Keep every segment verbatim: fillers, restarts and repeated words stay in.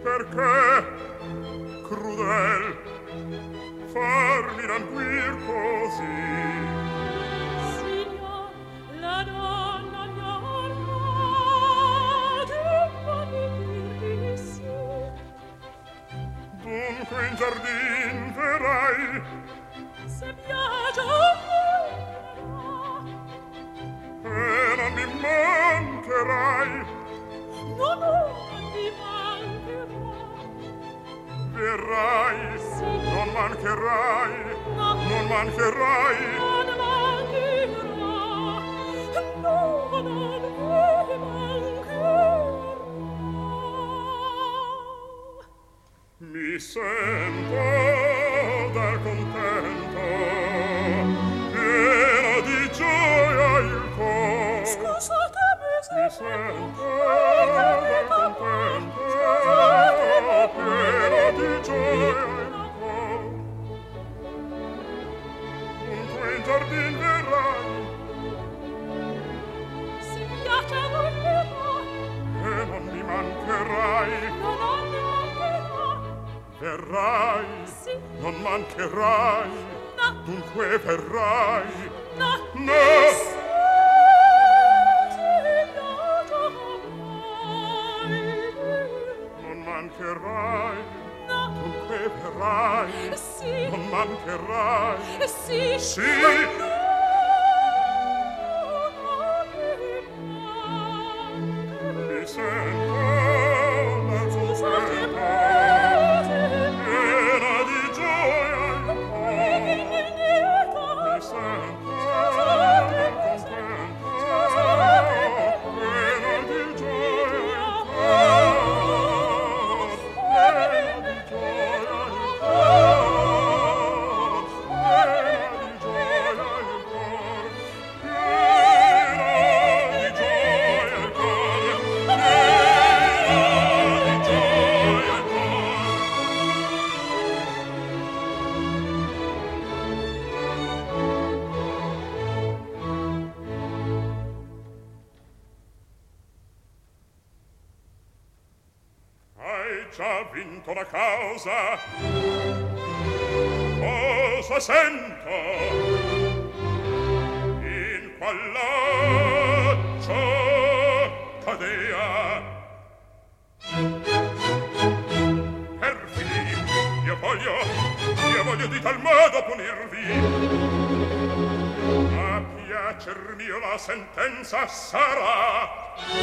perché crudel farmi languir così? Signor, la donna mia orma di dir sì. Dunque in giardin verrai, se piace e non mi mancherai. No, no, non mi mancherà. Verrai, Sì. non mancherai, No. non mancherai. Non mancherà. No, non mi mancherà. Mi sento dal contento, pieno di gioia il cor. Scusatemi se Mi sento dal contento, pieno di gioia il cor. Dunque in giardin verrai, se piace a voi però, e non mi mancherai. no, non mi mancherà. Verrai, Sì. non mancherai. No. Dunque verrai. No. No. Non mancherai. No. Dunque verrai. Sì. Non mancherai. Sì. Sì. Mi sento dal contento, piena di gioia il cor. Mi sento dal contento, piena di gioia il cor. Piena di gioia il cor. Piena di gioia il cor. Piena di gioia il cor. Piena di gioia il cor. Hai già vinto la causa. Cosa sento? In qual laccio cadea? Perfidi, io voglio, io voglio di tal modo punirvi. A piacer mio la sentenza sarà.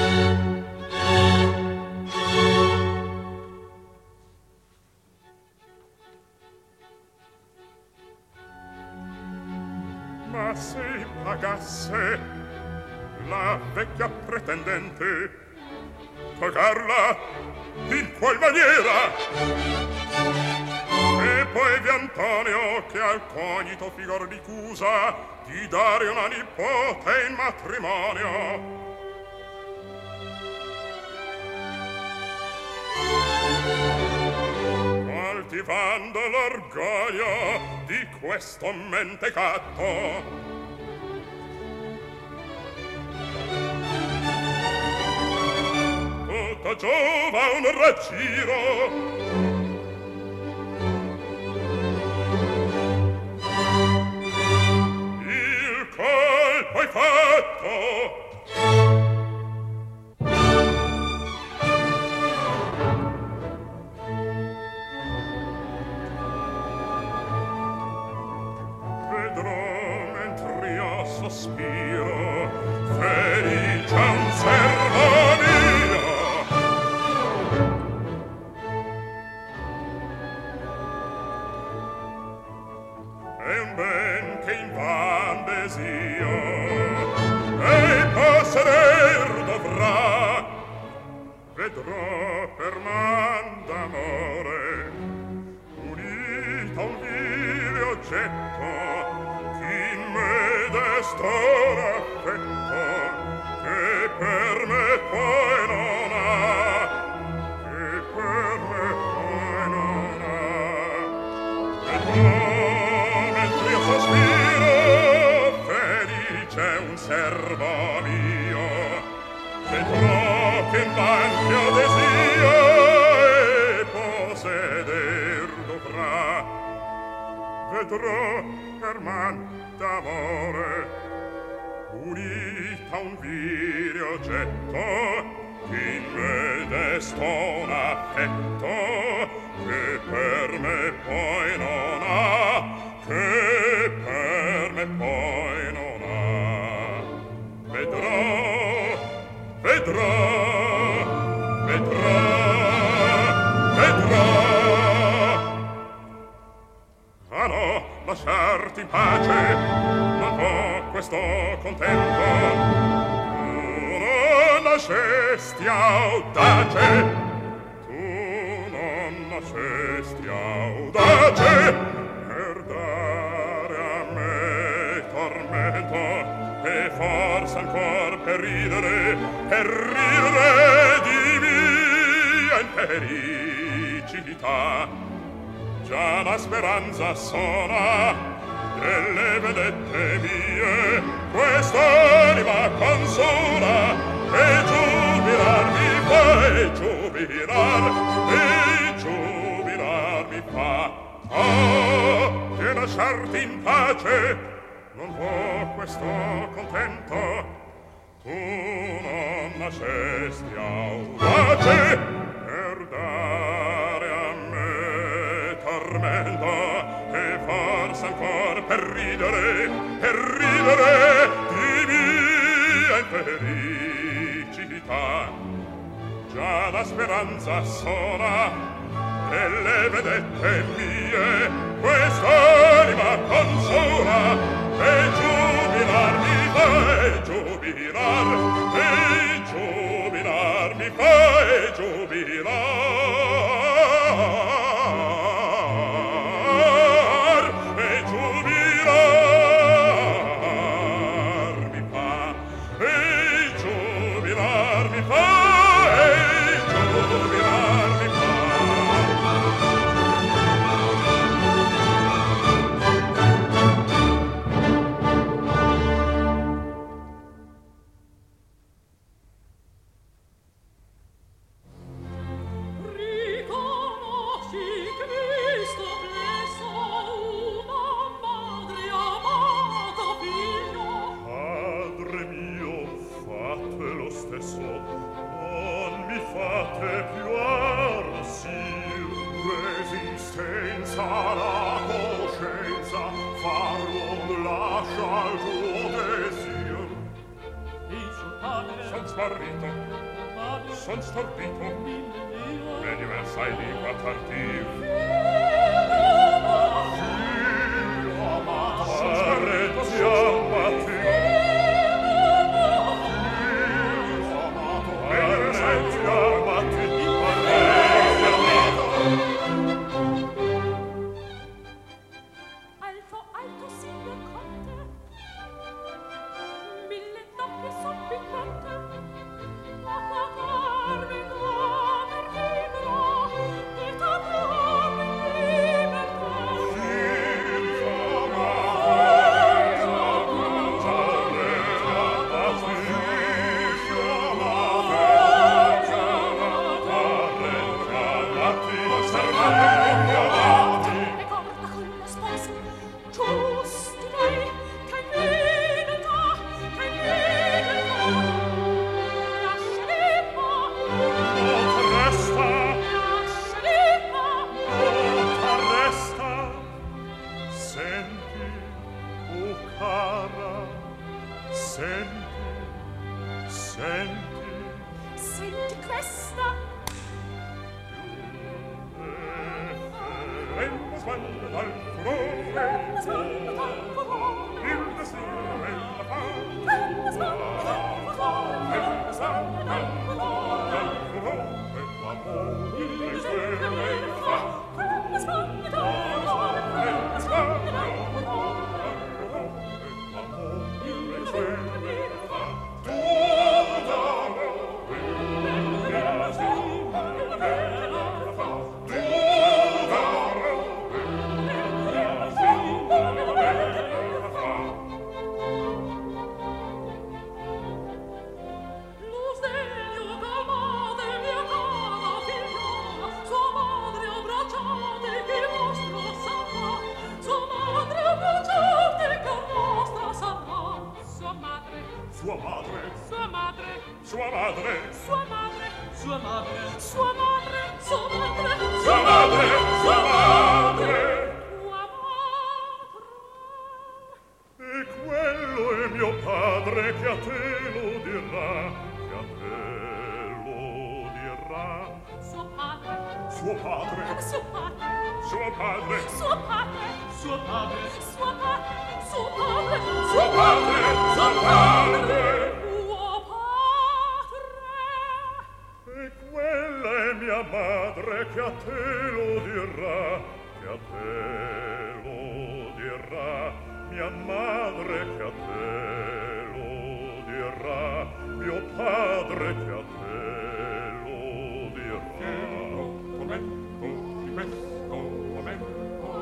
Ma se pagasse la vecchia pretendente, pagarla in qual maniera? E poi vi Antonio che al cognito figor ricusa di dare una nipote in matrimonio. Coltivando l'orgoglio di questo mentecato, tutto giova un raggiro. Il colpo è fatto. Sospiro, felice un servo mio. È un ben che in van desio e posseder dovrà. Vedrò per man d'amore unito a un vile oggetto destor affetto che per me poi non ha, che per me poi non ha. E tu mentre io sospiro felice un servo mio, vedrò che in van che ho desio e vedrò per man d'amore unita un vile oggetto in me destona affetto che per me poi non ha, che per me poi non ha. Vedrò, vedrò, vedrò, vedrò. Ah no, lasciarti in pace, non può questo contento. Nascesti audace, tu non nascesti audace per dare a me tormento e forse ancor per ridere, per ridere di mia infelicità. Già la speranza sona delle vedette mie, quest'anima consola e giubilar mi fa, e giubilar, e giubilar mi fa. Oh, che lasciarti in pace non può questo contento. Tu non nascesti audace per dare a me tormento e forse ancor per ridere, per ridere di mia infelicità. Già la speranza sola delle vedette mie, quest'anima consola e giubilar mi fa, e giubilar, e giubilar mi fa, e giubilar, e giubilar mi fa, e giubilar mi fa. Son stordito, vedi versai di quattartiv. Fio amato, son stordito, chiamati. Fio amato, vedi versai di chiamati. Alto, alto, signor conte, mille doppie son piccante. Lo sdegno calmate, mia cara figlia, suo padre, Suo padre, suo padre, suo padre, Suo padre, suo padre, suo padre, suo padre, suo padre. Suo padre. E quella è mia madre che a te lo dirà, che a te lo dirà, mia madre che a te lo dirà, mio padre che a te lo dirà. Momento, momento, momento.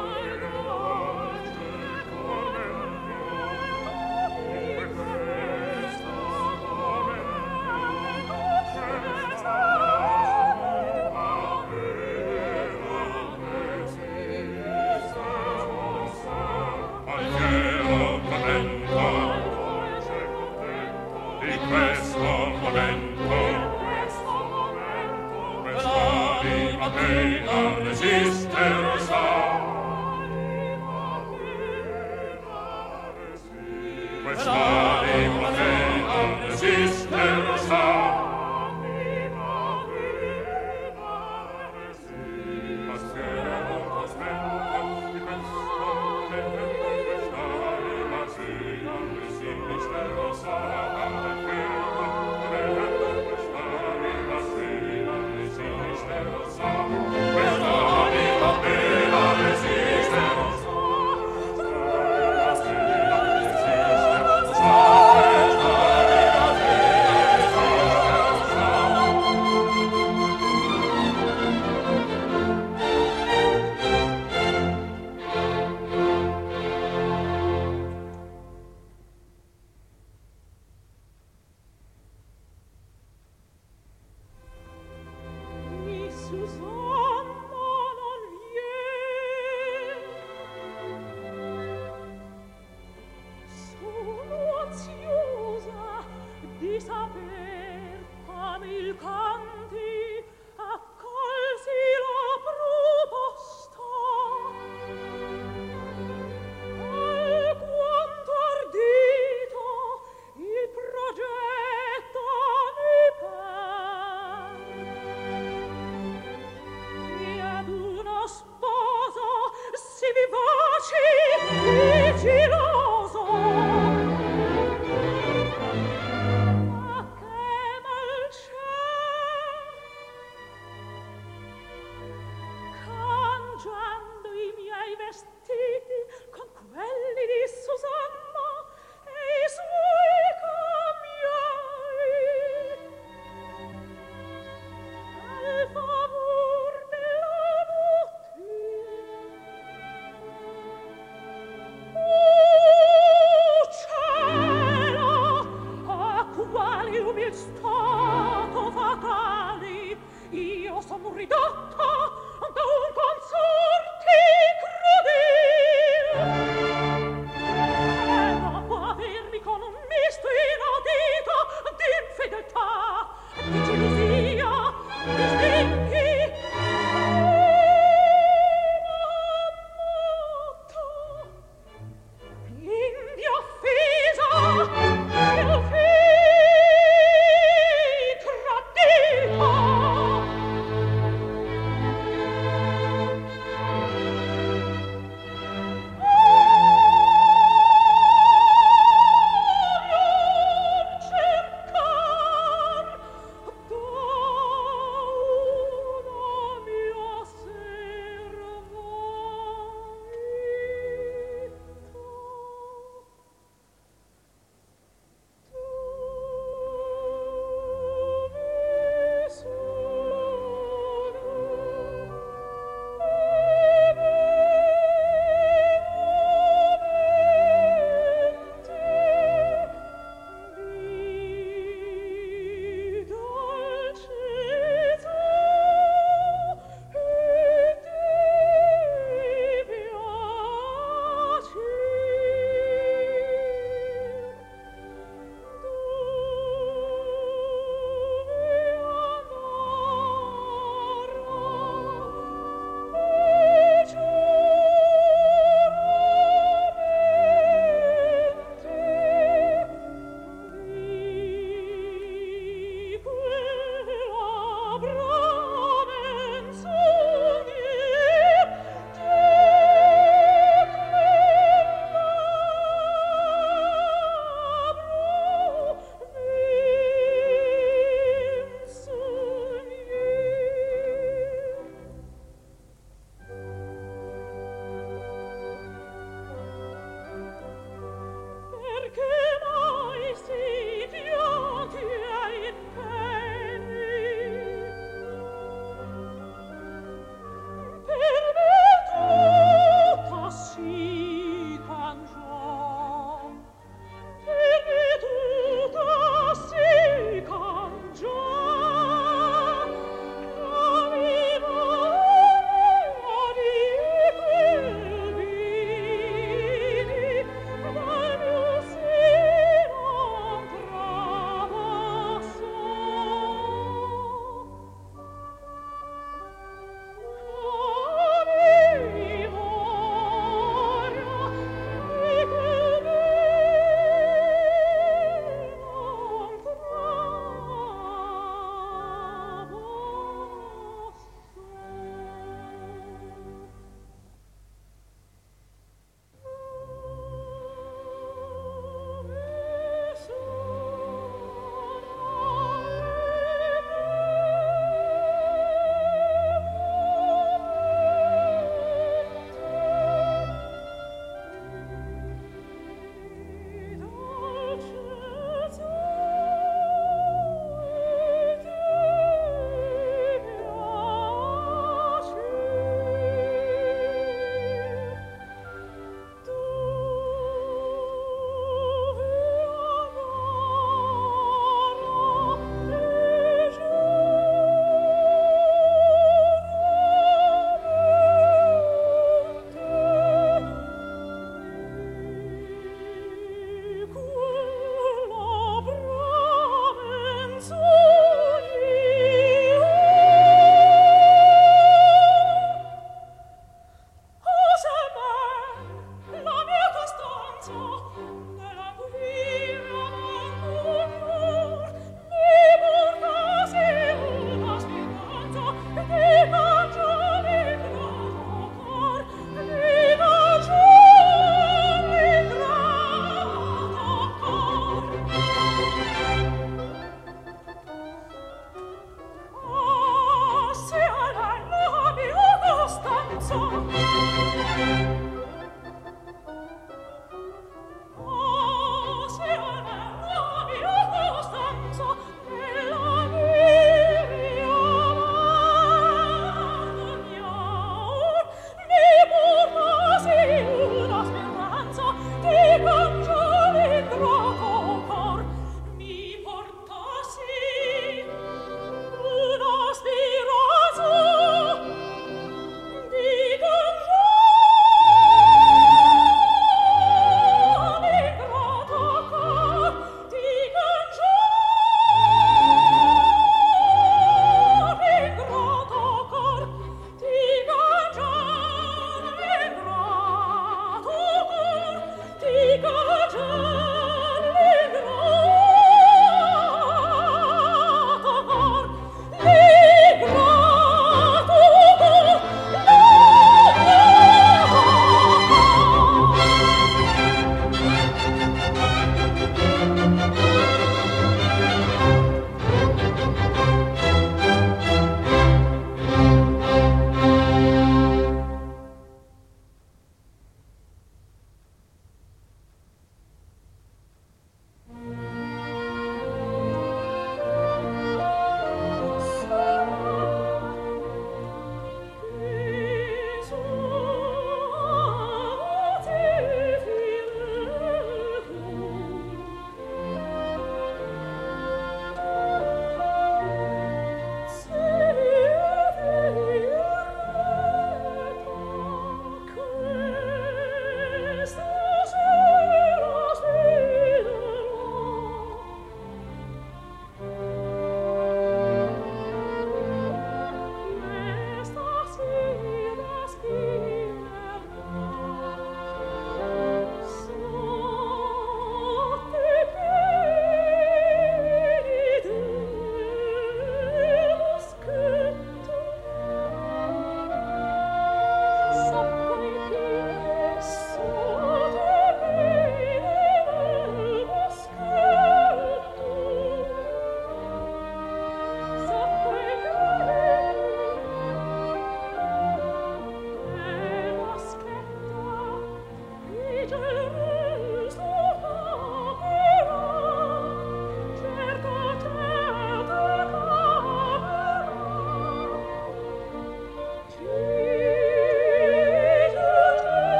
Resistere sa, quest'anima pena resistere sa.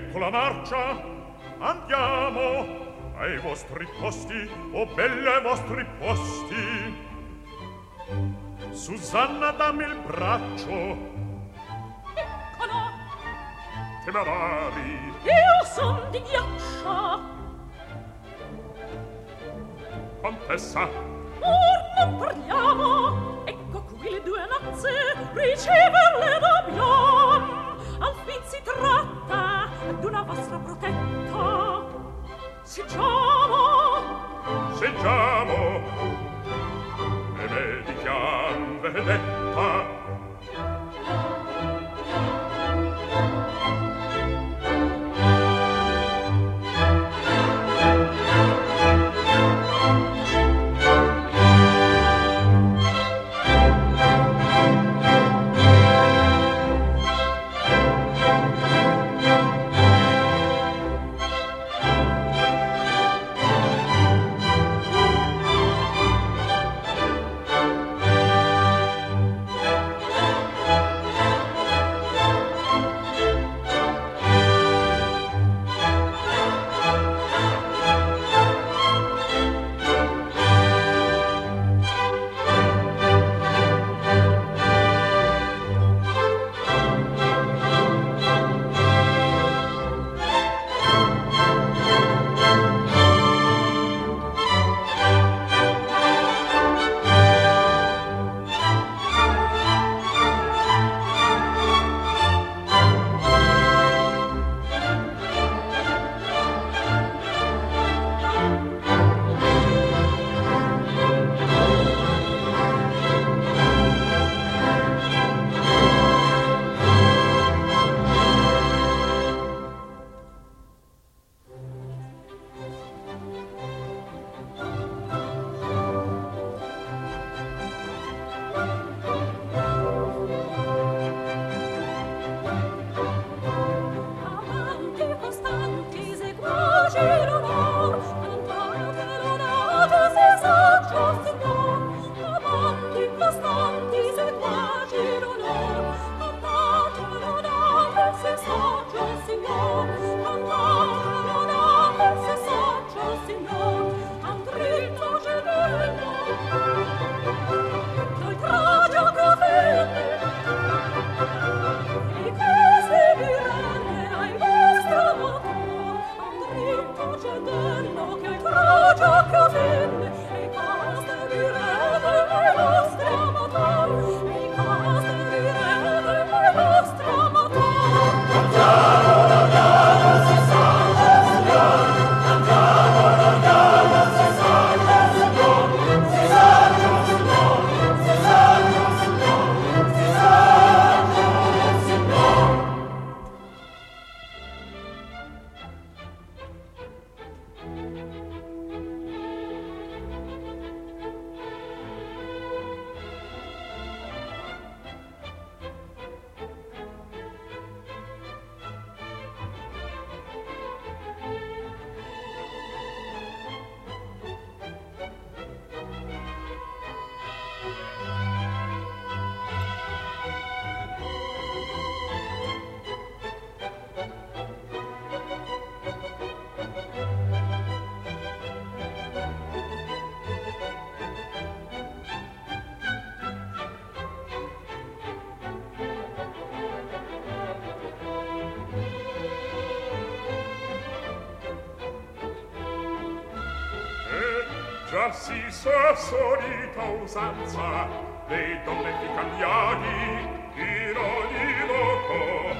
ecco la marcia, andiamo ai vostri posti, o belle ai vostri posti. Susanna, dammi il braccio. Eccola. Che m'avari? Io son di ghiaccia. Contessa. Or non parliamo. Ecco qui le due nozze, riceverle dobbiam. Al fin si tratta d'una vostra protetta. Siggiamo. Siggiamo. E medichiam vedetta. Già si sa solita usanza dei donne di Cagliari in ogni loco.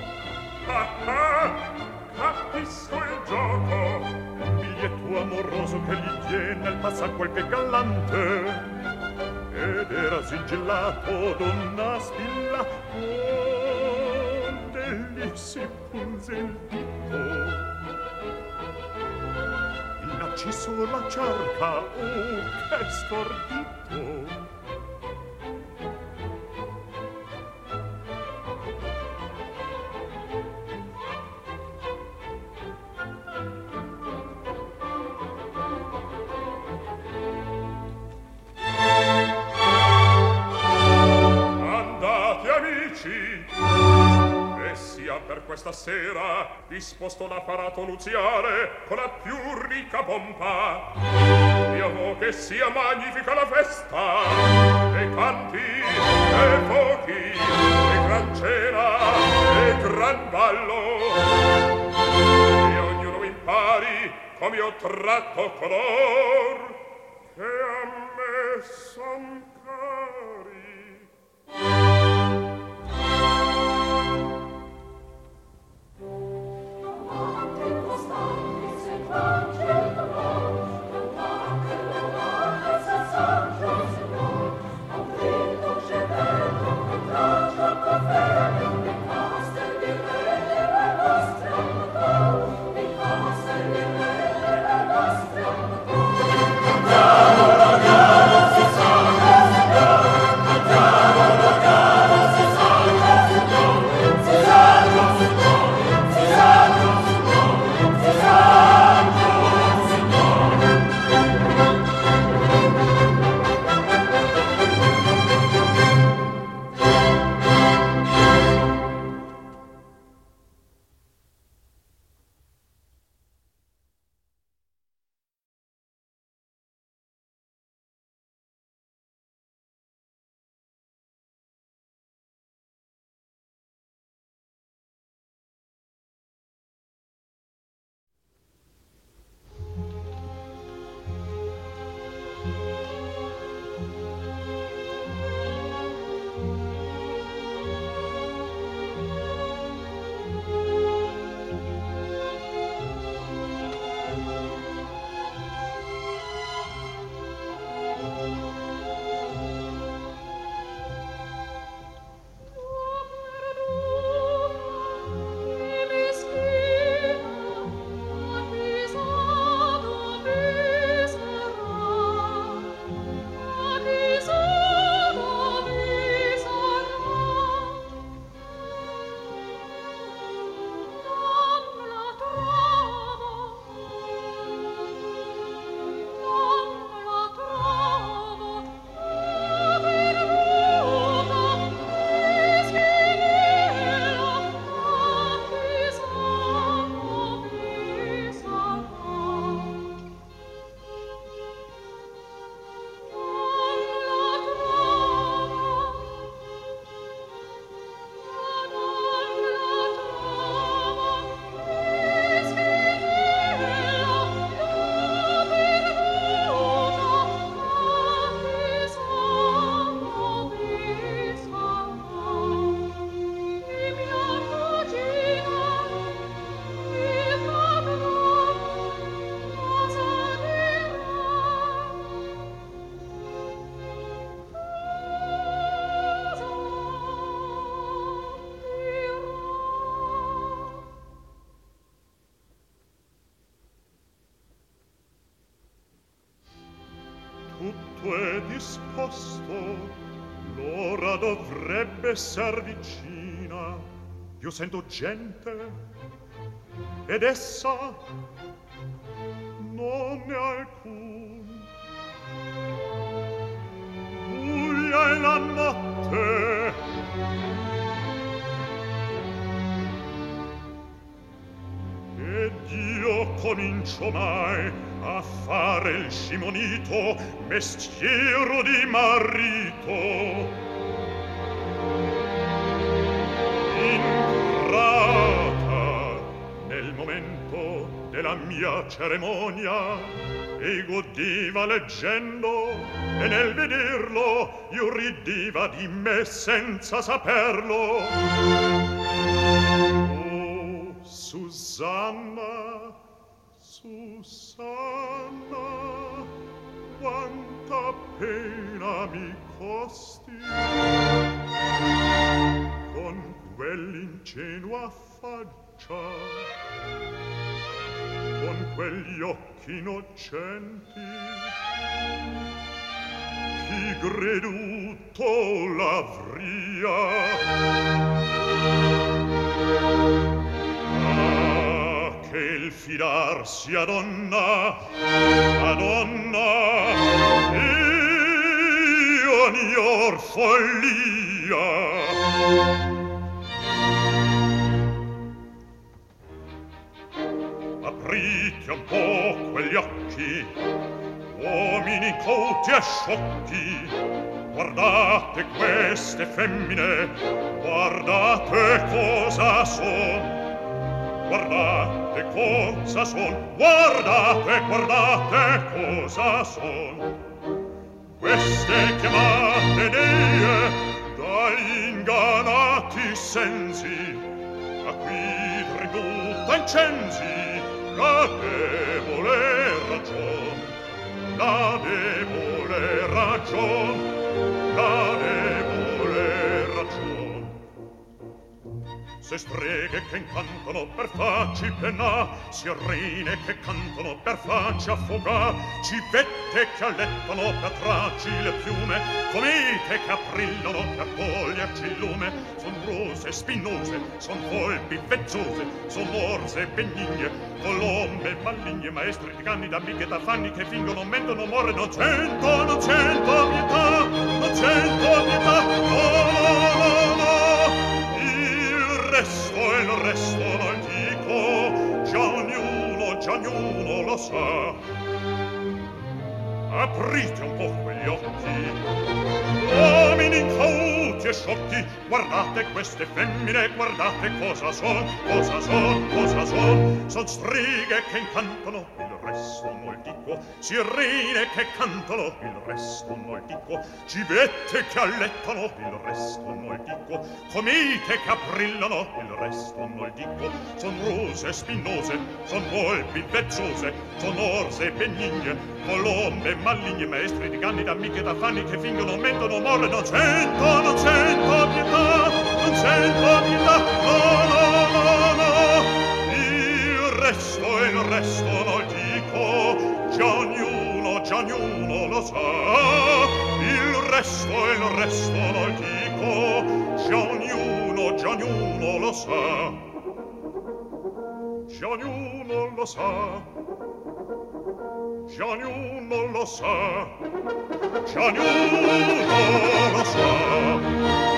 Ah ah, capisco il gioco. Un biglietto amoroso che gli tiene al passar qualche gallante. Ed era sigillato d'una spilla onde gli si punse il dito. Ci sulla cerca, oh, che stordito! Andate, amici, e sia per questa sera disposto l'apparato nuziale con la più ricca pompa. Io vo che sia magnifica la festa, e canti, e fuochi, e gran cena, e gran ballo. E ognuno impari come io tratto color che a me son cari. Tutto è disposto, l'ora dovrebbe essere vicina. Io sento gente, ed essa non è alcun. Buia è la notte, ed io comincio mai a fare il scimonito, mestiero di marito. Entrata nel momento della mia cerimonia, e godiva leggendo, e nel vederlo io ridiva di me senza saperlo. Oh, Susanna, Susanna, quanta pena mi costi con quell'ingenua faccia, con quegli occhi innocenti. Chi creduto l'avria? Che il fidarsi a donna, a donna, io nior follia. quegli occhi, uomini cauti e sciocchi, guardate queste femmine, guardate cosa son, guardate cosa son, guardate, guardate cosa son. Queste chiamate dee dagli ingannati sensi, a qui ridotta incensi, la debole ragion, la debole ragion, la debole ragion. Se streghe che incantano per farci penà, sirene che cantano per farci affogà, civette che allettano per trarci le piume, comete che aprillano per toglierci il lume, son rose spinose, son volpi vezzose, son orse benigne, colombe maligne, maestri di canni, d'amiche, d'affanni che fingono, mentono, morre, non sento, non sento pietà, non sento pietà, no, no, no, no. Il resto, il resto non dico, già ognuno, già ognuno lo sa. Aprite un po' quegli occhi, uomini incauti e sciocchi, guardate queste femmine, guardate cosa son, cosa son, cosa son. Son streghe che incantano, il resto non dico, sirene che cantano, il resto non dico, civette che allettano, il resto non dico, comete che aprillano, il resto non dico, son rose spinose, son volpi vezzose, son orse benigne, colombe maligne, maestri di canni, d'amiche, d'affanni che fingono, mentono, morre, non sento, non sento pietà, non sento pietà, no, no, no, no. Il resto, il resto non dico, già ognuno, già ognuno lo sa. Il resto, il resto non dico, già ognuno, già ognuno lo sa. Già ognuno lo sa. Già ognuno lo sa, già ognuno lo sa.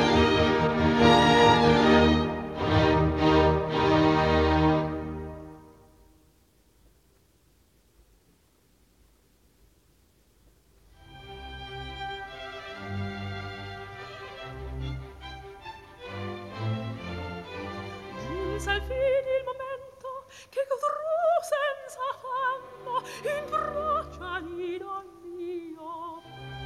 Giunse al fine il momento che godrò senza fanno in braccia di don mio.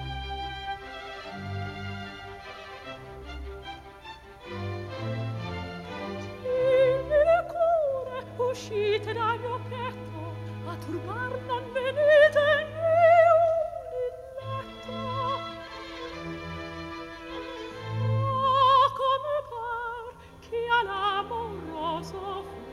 Timide cure uscite dal mio petto, a turbar non venite né un illetto. Ah, come par che all'amoroso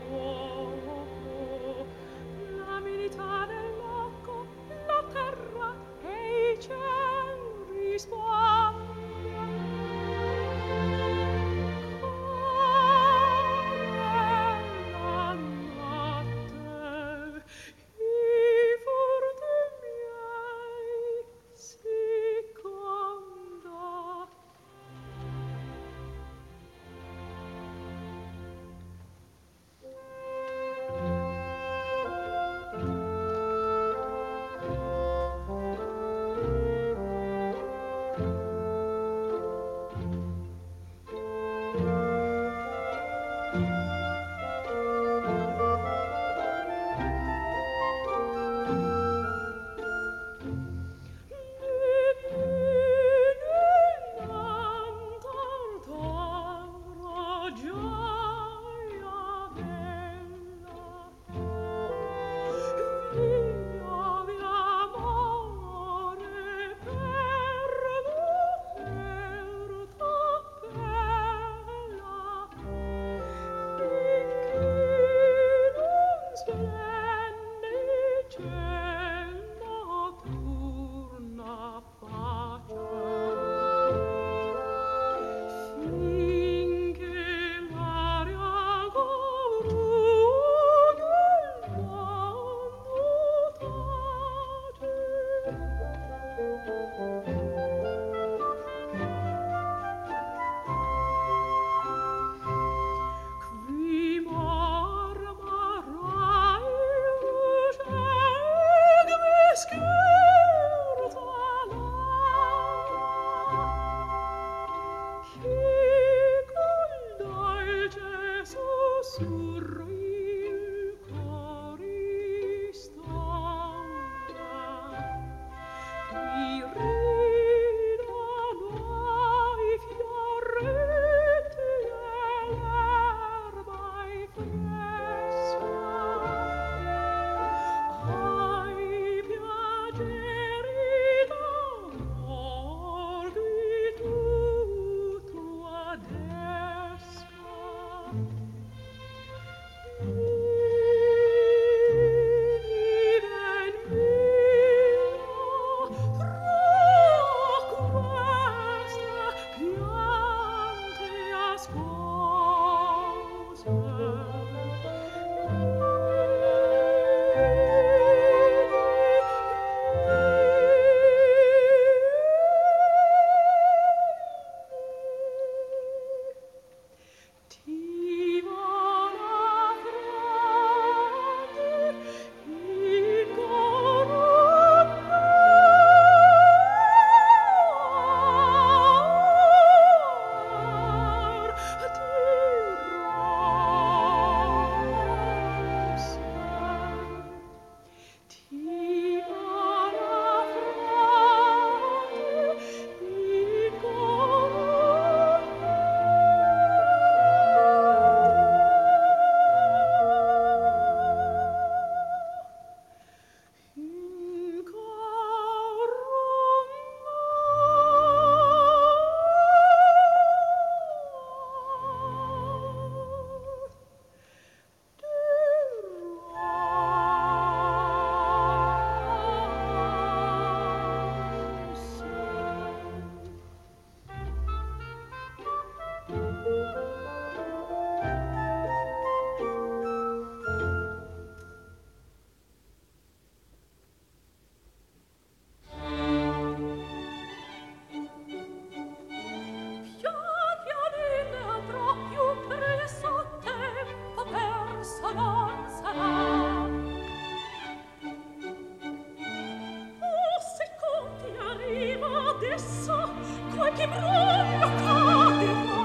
adesso qualche brullo caderà.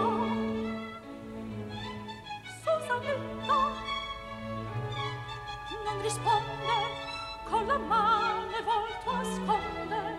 Susannetta non risponde, con la mano è volto a sconde.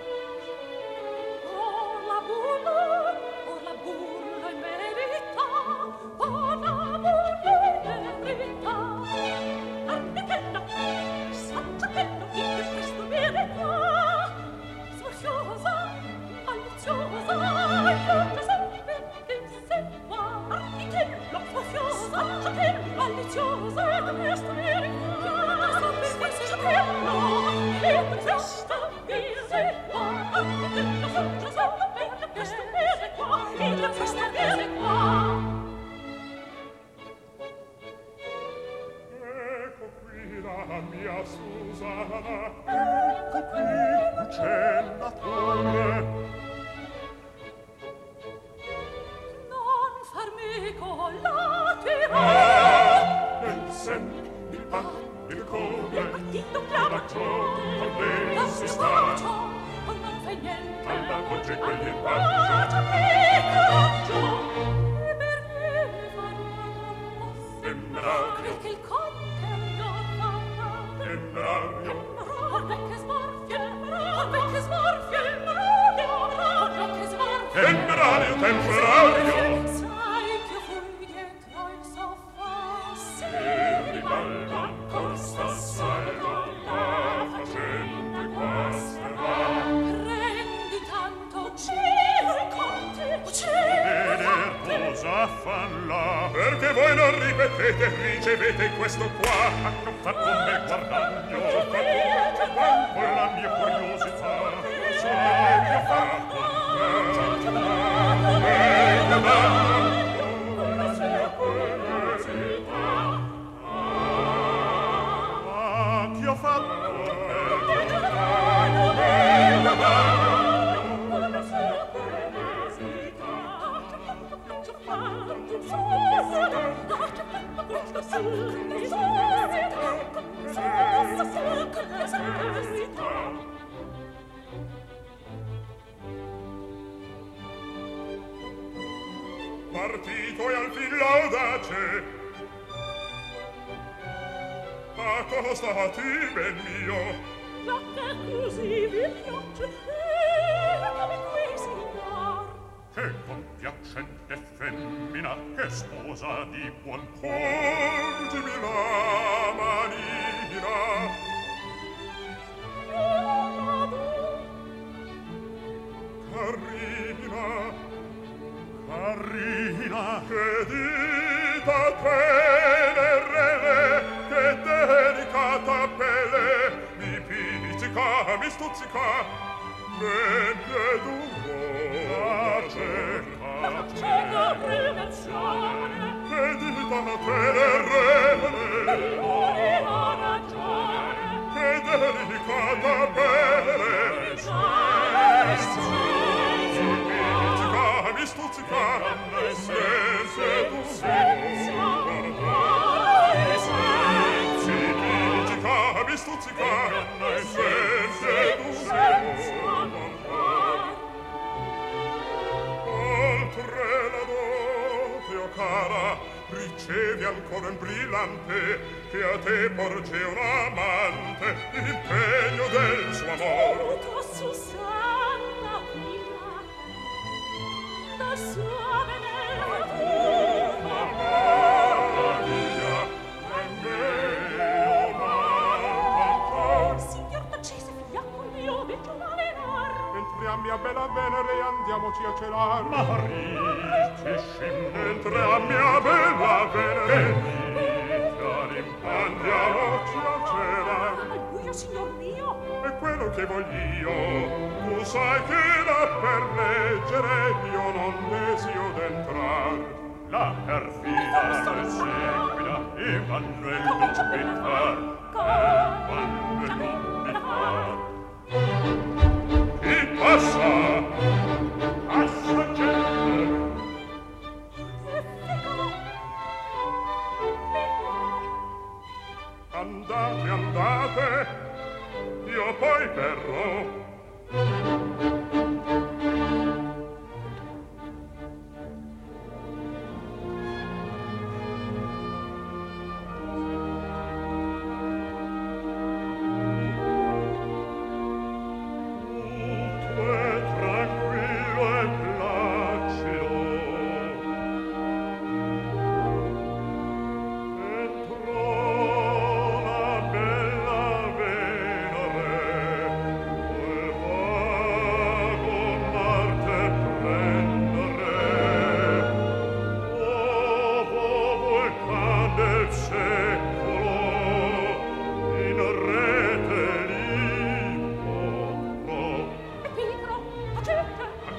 Oh la burla, oh la burla in verità, oh la burla in verità. Armitella, saggiatella, che per questo viene qua. Sfaziosa, maliziosa, aiutosa, perché sei qua. Armitella, sfaziosa, saggiatella, maliziosa, per questo viene qua. Saggiatella, e per questo viene qua. Armitella, saggiatella, per questo viene qua. E per questo viene qua. La mia Susanna, ecco qui c'è la torre. Non farmi collaterare. Nel sen, il pa, il come, Il partito chiama la ciò, con lei la si si sta. sta. Non fai niente. Alla voce quegli Bacio che coraggio. E perché farò mosse? Temerario. Perché il conte non Temerario. Roda che smorfia, roda che smorfia, roda che smorfia. Temerario, temerario. Sai che io fui dietro il soffà. Se ribalta ancor sta salvo, la facente guasterà. Prendi tanto, uccido il conte, uccido il conte. Veder cosa falla, perché voi non ripetete, ricevete questo qua. A far con me guardagno, con la mia curiosità. Sai che fa con me, e guardagno, con la mia curiosità. Ah, che ho fatto? E guardagno, con la mia curiosità. Partito e al fin l'audace, accostati, ben mio. Ma che così vi piace, e come qui, signor? Che compiacente femmina, che sposa di buon cuor. Porgimi la manina. Carina, carina, che dita tenere, che delicata pelle, mi pizzica, mi stuzzica, men che d'umore cerca, Cieca prevenzione, che dita tenere, l'amore ha ragione, che delicata pelle, mi stuzzica, se tu sei stuzzica, mi stuzzica, se tu sei oltre la dote, o cara, ricevi ancora un brillante, che a te porge un amante, l'impegno del suo amor. tua Susanna prima, da sua venera tua, Amata mia, e me o signor Tacese, figliacco mio, veggio malenar. entriamo a bella Venere e andiamoci a celar. Marici, entriamo a bella Venere, andiamoci a celar. Al buio, signor mio, È quello che voglio, tu sai che da per leggere io non desio d'entrar. La perfida le seguita, e vanno il dubbitar, e vanno il dubbitar. Chi passa? Passa gente. Andate, andate, io poi verrò.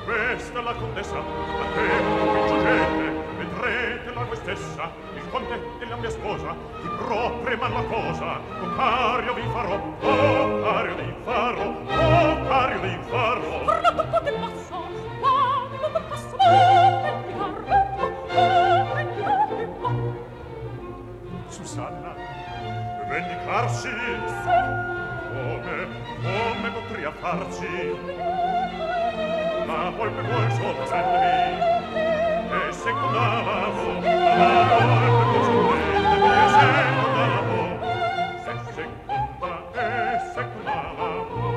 questa è la contessa, a te qui giungete, vedrete la voi stessa, il conte e la mia sposa, di proprio man la cosa, con cario vi farò, oh cario vi farò, oh cario vi farò. Parla poco del passo, parla del passo, prendi la ritmo, Susanna, vendicarsi? Come, come potria farsi? La volpe vuol sorprendermi, e secondavo, la volpe vuol sorprendermi, e secondavo, e seconda, e secondavo.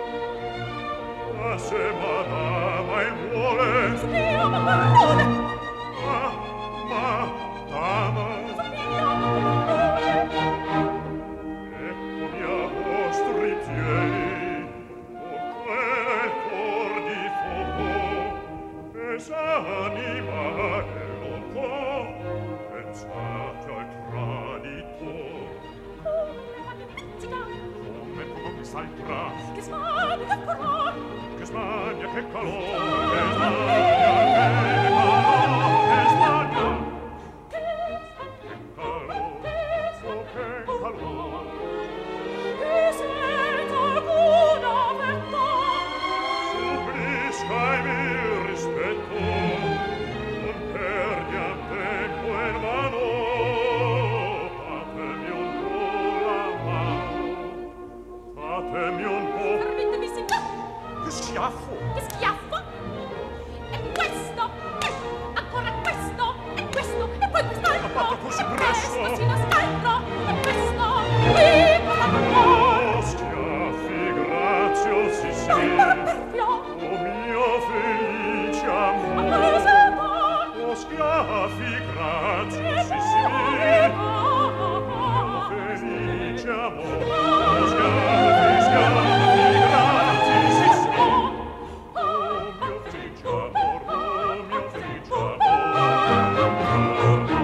Ma se madama il vuole, spiamo parole, ma, ma, dama, eccomi a vostri piedi, o quel cor di fuoco, e s'anima e non può, pensate al traditor. Come può quest'altra, che smania, che furore, che smania, che calore, che smania, che calore, che smania, che che senza alcuna vetta, supplisca e mi rispetto, non perdiam tempo in vano, fatemi un po' la mano, fatemi un po'. permettemi signor, Che schiaffo! che schiaffo, e questo, e ancora questo, e questo, e poi quest'altro, Ma fatto così presto? questo sino a scaltro, e questo, qui, cosa Oh, schiaffi graziosissimi, non perfio, o mio felice amore, amore, o schiaffi graziosissimi, felice amore, o schiaffi, schiaffi graziosissimi, o mio felice amore, o mio felice amore.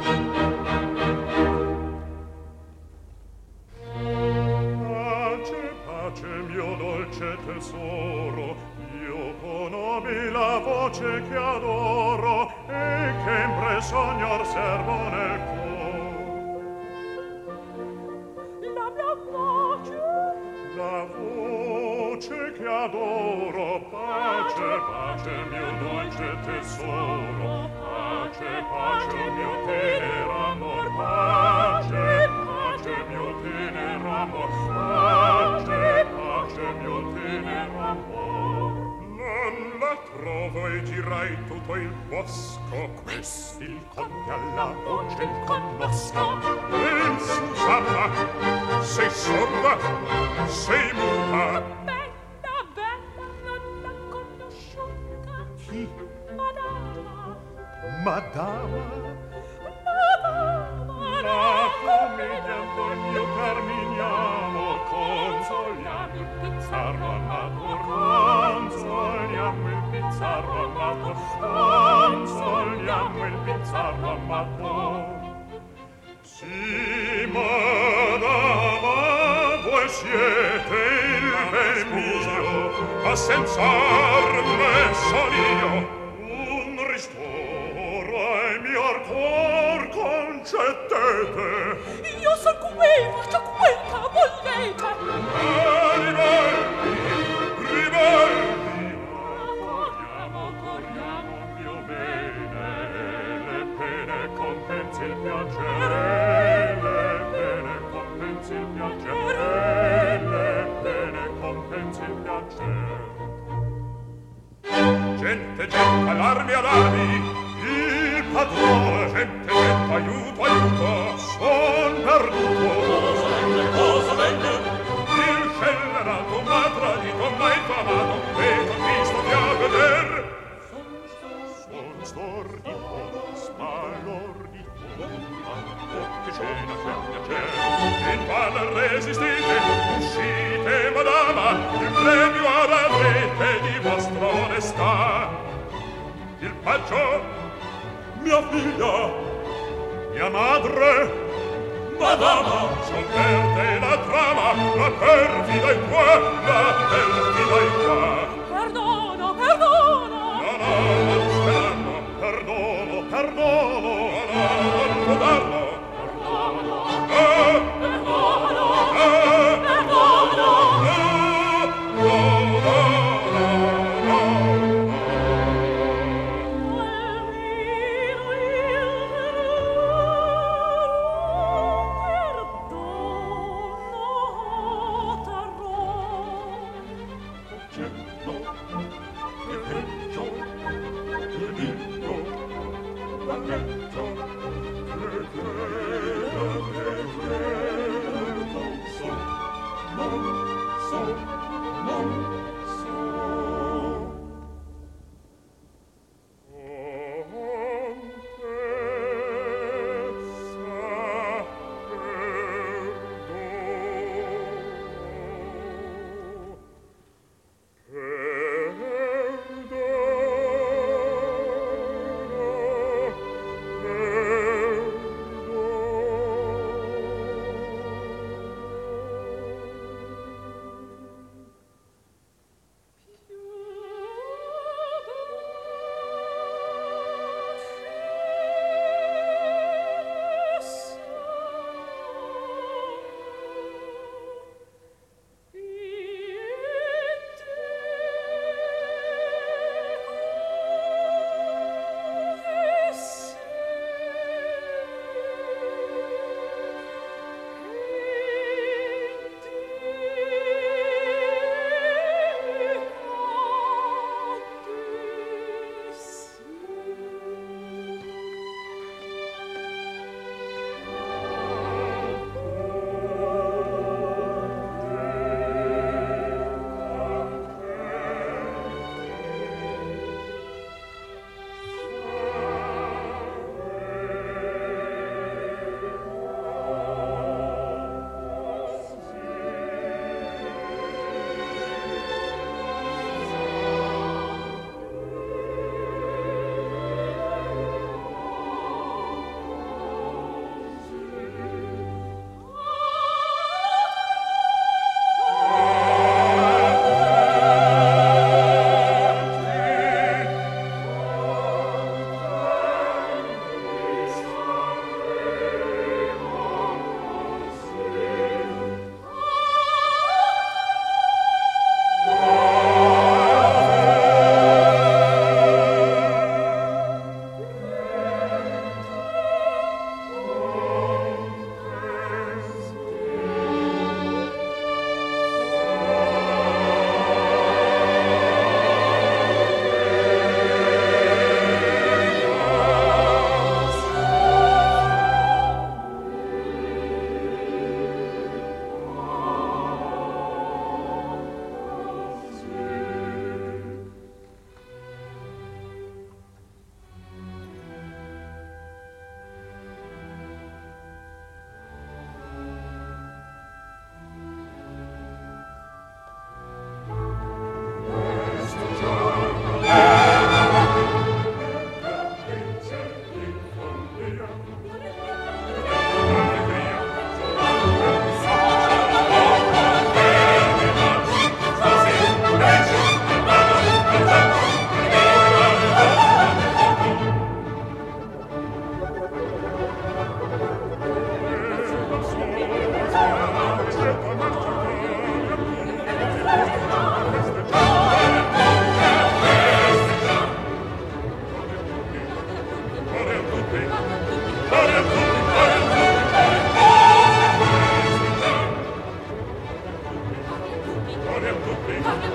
Pace, pace, mio dolce tesoro, io conobi la voce che adoro e che in sognor servo nel cor. la mia voce, La voce che adoro, pace, pace, mio dolce tesoro, pace, pace, mio tenero amor, pace, pace, mio tenero amor, pace, pace, mio tenero amor. Non la trovo e girai tutto il bosco, questi il conte alla voce il conosco. E Susanna, sei sorda, sei muta. bella, bella, non la conosciuta, Chi? madama, Madama, madama, la commedia del mio Carminiamo, consoliamo il pizzarro amato, consoliamo il pizzarro amato, consoliamo il pizzarro amato. Sì, madama, voi siete il ben mio, ma senz'arme son io. Un ristoro ai mio cor concettete. io son qui, faccio quel che volete, Ah, ribelli, ribelli, corriamo, corriamo, mio bene, le pene compensi il piacere, le pene compensi il piacere, le pene compensi il piacere. Gente, gente, allarmi, allarmi, il padrone, gente, gente, aiuto, aiuto, son perduto. Cosa venne, cosa venne? Il scellerato m'ha tradito, m'ha infamato, e t'ho visto di a veder. Son stordito, sbalordito, ma che cena c'è piacere. In valle resistite, uscite, madama, il premio ad avrete di vostra onestà. Il paggio, mia figlia, mia madre, madama, son per te la trama, la perfida è qua, la perfida è qua. perdono, perdono,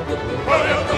Corri a